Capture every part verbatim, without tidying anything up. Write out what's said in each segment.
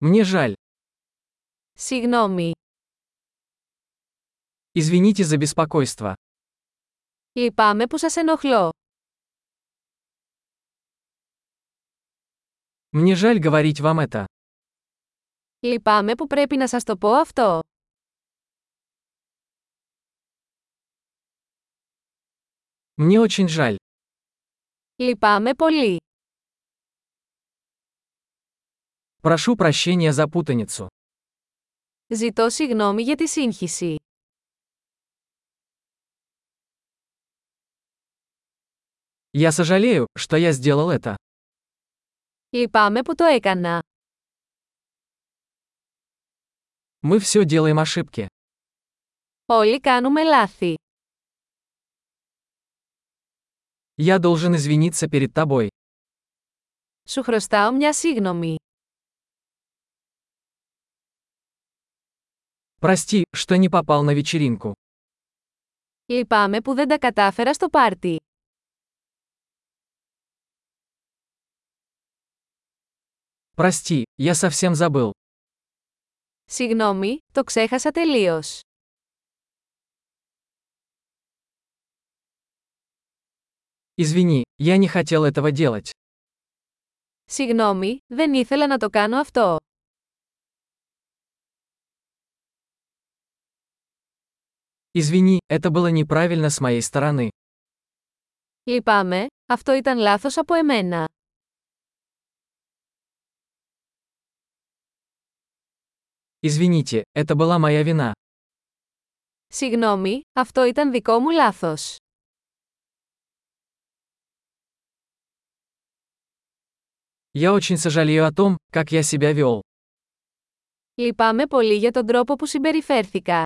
Мне жаль. Συγγνώμη. Извините за беспокойство. Λυπάμαι που σας ενοχλώ. Мне жаль говорить вам это. Λυπάμαι που πρέπει να σας το πω αυτό. Мне очень жаль. Λυπάμαι πολύ. Прошу прощения за путаницу. Ζητώ συγγνώμη για τη σύγχυση. Я сожалею, что я сделал это. Λυπάμαι που το έκανα. Мы все делаем ошибки. Όλοι κάνουμε λάθη. Я должен извиниться перед тобой. Σου χρωστάω μια σύγγνωμη. Прости, что не попал на вечеринку. Λυπάμαι που δεν τα κατάφερα στο πάρτι. Прости, я совсем забыл. Συγγνώμη, το ξέχασα τελείως. Извини, я не хотел этого делать. Συγγνώμη, δεν ήθελα να το κάνω αυτό. Извини, это было неправильно с моей стороны. Λυπάμαι, αυτό ήταν λάθος από εμένα. Извините, это была моя вина. Συγγνώμη, αυτό ήταν δικό μου λάθος. Я очень сожалею о том, как я себя вел. Λυπάμαι πολύ για τον τρόπο που συμπεριφέρθηκα.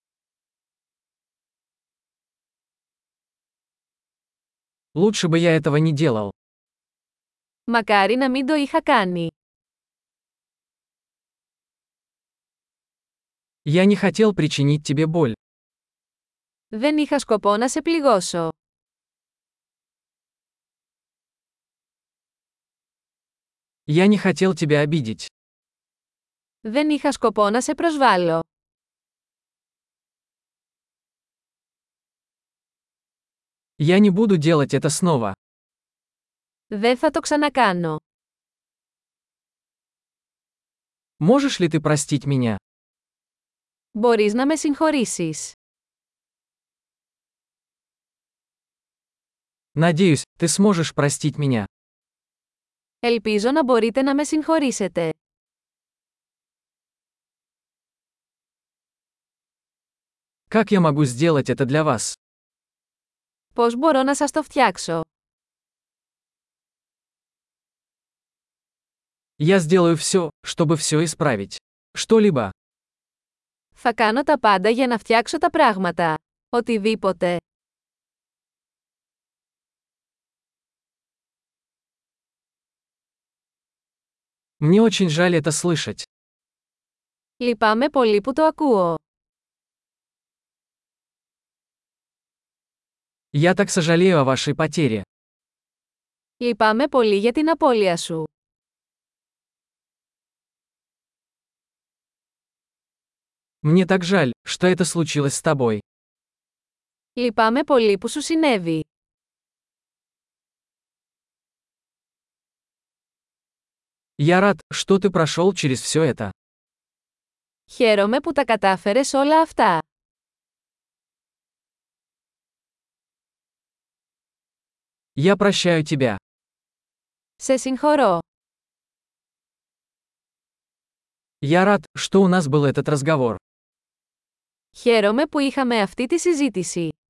Лучше бы я этого не делал. Μακάρι να μην το είχα κάνει. Я не хотел причинить тебе боль. Δεν είχα σκοπό να σε πληγώσω. Я не хотел тебя обидеть. Δεν είχα σκοπό να σε προσβάλλω. Я не буду делать это снова. Δεν θα το ξανακάνω. Можешь ли ты простить меня? Μπορείς να με συγχωρήσεις. Надеюсь, ты сможешь простить меня. Ελπίζω να μπορείτε να με συγχωρήσετε. Как я могу сделать это для вас? Πώς μπορώ να σας το φτιάξω? Я сделаю все, чтобы все исправить. Что-либо. Θα κάνω τα πάντα για να φτιάξω τα πράγματα. Οτιδήποτε. Мне очень жаль это слышать. Λυπάμαι πολύ που το ακούω. Я так сожалею о вашей потере. Λυπάμαι πολύ για την απώλεια σου. Мне так жаль, что это случилось с тобой. Λυπάμαι πολύ που σου συνέβη. Я рад, что ты прошел через все это. Χαίρομαι που τα κατάφερες όλα αυτά. Я прощаю тебя. Σε συγχωρώ. Я рад, что у нас был этот разговор. Χαίρομαι που είχαμε αυτή τη συζήτηση.